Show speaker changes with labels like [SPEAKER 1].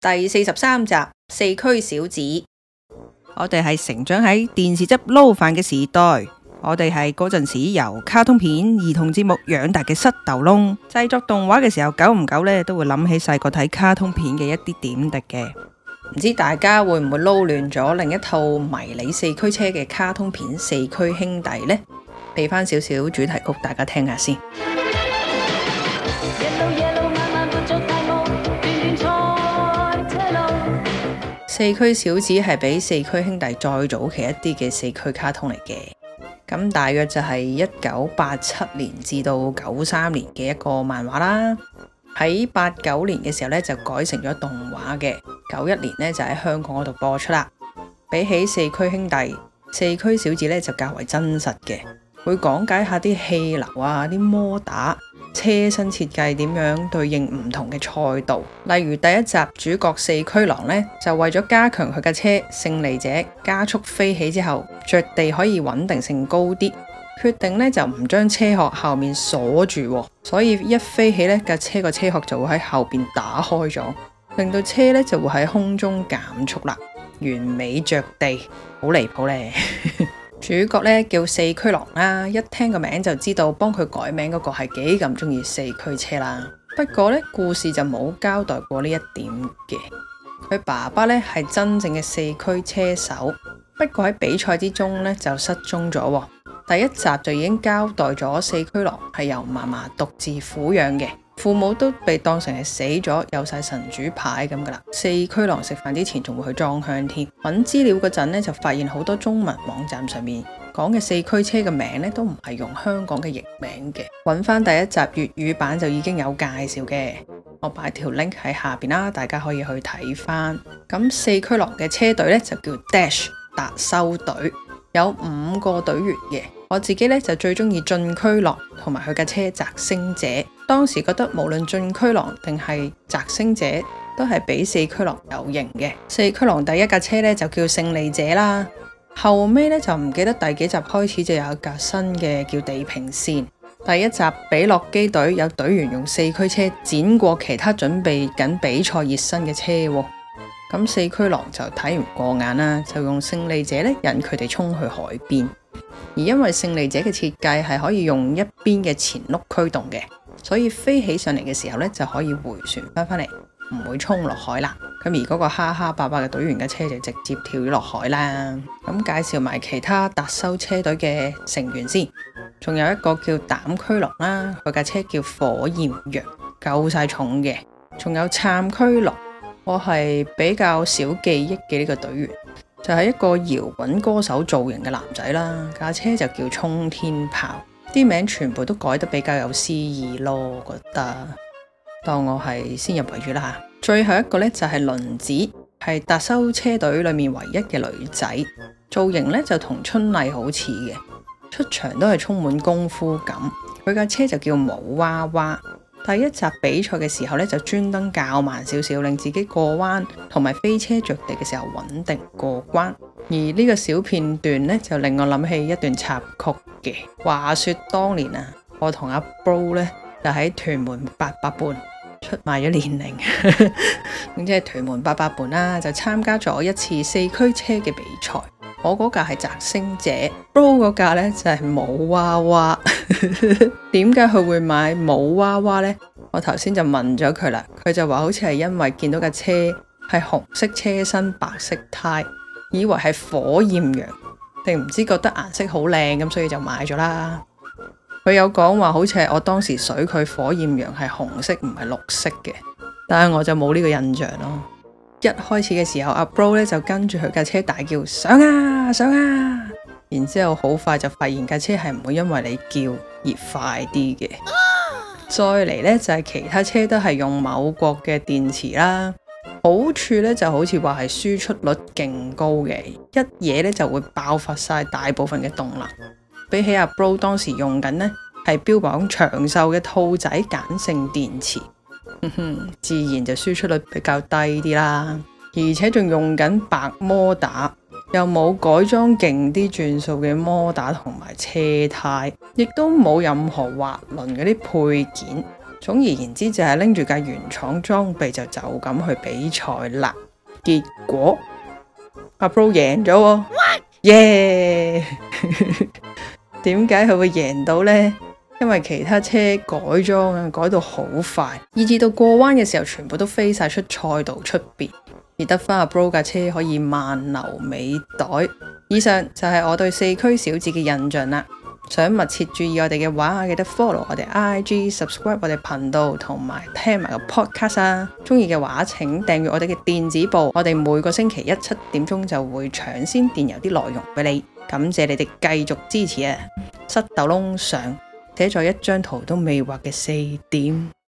[SPEAKER 1] 第43集四驅小子。
[SPEAKER 2] 我哋係成長喺電視汁撈飯嘅時代，我哋係嗰陣時由卡通片、兒童節目養大嘅膝頭窿。製作動畫嘅時候，久唔久呢都會諗起細個睇卡通片嘅一啲點滴嘅。
[SPEAKER 1] 唔知大家會唔會撈亂咗另一套迷你四驅車嘅卡通片《四驅兄弟》呢？俾翻少少主題曲大家聽下先。四驅小子係比四驅兄弟再早期一啲嘅四驅卡通嚟嘅，咁大約就係1987年至到93年嘅一個漫畫啦。喺89年嘅時候咧就改成咗動畫嘅，91年咧就喺香港嗰度播出啦。比起四驅兄弟，四驅小子咧就較為真實嘅，會講解下啲氣流啊、啲摩打、車身設計點樣對應唔同嘅賽道。例如第一集主角四驅狼呢，就為咗加強佢嘅車勝利者加速飛起之後着地可以穩定性高啲，決定呢就唔將車殼後面鎖住，所以一飛起呢架車個車殼就會喺後邊打開咗，令到車呢就會喺空中減速啦，完美着地，好離譜呢。主角呢叫四驅狼啦，一聽個名就知道幫佢改名嗰個係幾咁中意四驅車啦。不過呢，故事就冇交代過呢一點嘅。佢爸爸呢係真正嘅四驅車手，不過喺比賽之中呢就失蹤咗。第一集就已經交代咗四驅狼係由嫲嫲獨自撫養嘅，父母都被當成係死咗，有晒神主牌咁噶啦。四驅狼食飯之前仲會去裝香添。揾資料嗰陣呢，就發現好多中文網站上面講嘅四驅車嘅名呢，都唔係用香港嘅譯名嘅。揾翻第一集粵語版就已經有介紹嘅，我擺條 link 喺下邊啦，大家可以去睇翻。咁四驅狼嘅車隊呢，就叫 Dash 達修隊，有5個隊員嘅。我自己呢，就最中意進驅狼同埋佢架車摘星者。當時覺得無論進驅狼定係摘星者都係比四驅狼有型嘅。四驅狼第一架車呢，就叫勝利者啦，後尾呢，就唔記得第幾集開始就有一架新嘅叫地平線。第一集比洛基隊有隊員用四驅車剪過其他準備緊比賽熱身嘅車喎，咁四驅狼就睇唔過眼啦，就用勝利者呢引佢哋衝去海邊。而因為勝利者嘅設計係可以用一邊嘅前轆驅動嘅，所以飛起上嚟嘅時候呢，就可以回旋翻嚟，唔會衝落海啦。咁而嗰個哈哈伯伯嘅隊員嘅車就直接跳咗落海啦。咁介紹埋其他達修車隊嘅成員先，仲有一個叫膽驅狼啦，佢架車叫火焰羊，夠晒重嘅。仲有杉驅狼，我係比較少記憶嘅呢個隊員。就係一個搖滾歌手造型嘅男仔啦，架車就叫衝天炮，啲名全部都改得比較有詩意咯，我覺得當我係先入為主啦。最後一個呢，就係輪子，係達修車隊裏面唯一嘅女仔，造型呢就同春麗好似嘅，出場都係充滿功夫感。佢架車就叫舞娃娃。第一集比賽嘅時候呢，就專登較慢少少，令自己過彎同埋飛車着地嘅時候穩定過關。而呢個小片段呢，就令我諗起一段插曲嘅。話說當年啊，我同阿 Bro 呢，就喺屯門88伴出賣咗年齡，咁即係屯門88伴啦，就參加咗一次四驅車嘅比賽。我嗰架係摘星者，Bro 嗰架呢就係舞娃娃。點解佢會買舞娃娃呢？我頭先就問咗佢啦，佢就話好似係因為見到架車係紅色車身白色胎，以為係火焰羊，定唔知覺得顏色好靚咁，所以就買咗啦。佢有講話好似係我當時水佢火焰羊係紅色唔係綠色嘅，但係我就冇呢個印象咯。一開始嘅時候，阿 Bro 咧就跟住佢架車大叫上啊上啊，然之後好快就發現架車係唔會因為你叫而快啲嘅。再嚟呢，就係其他車都係用某國嘅電池啦，好處呢就好似話係輸出率勁高嘅，一嘢呢就會爆發晒大部分嘅動能。比起阿 Bro 當時用緊呢係標榜長壽嘅兔仔鹼性電池，自然就輸出率比較低啲啦，而且仲用緊白摩打，又冇改裝勁啲轉數嘅摩打同埋車胎，亦都冇任何滑輪嗰啲配件， 總而言之就係拎住架原廠裝備就咁去比賽啦。結果阿 Bro 贏咗喎，耶！點解佢會贏到呢？因為其他車改裝啊，改到好快，以至到過彎嘅時候全部都飛晒出賽道出邊，而得翻阿 Bro 架車可以慢流尾袋。以上就係我對四驅小子嘅印象啦。想密切注意我哋嘅話，記得 follow 我哋 IG、subscribe 我哋頻道同埋聽埋個 podcast 啊！中意嘅話請訂閱我哋嘅電子報，我哋每個星期7點鐘就會搶先電郵啲內容俾你。感謝你哋繼續支持啊！塞豆窿上寫咗一張圖都未畫嘅4點。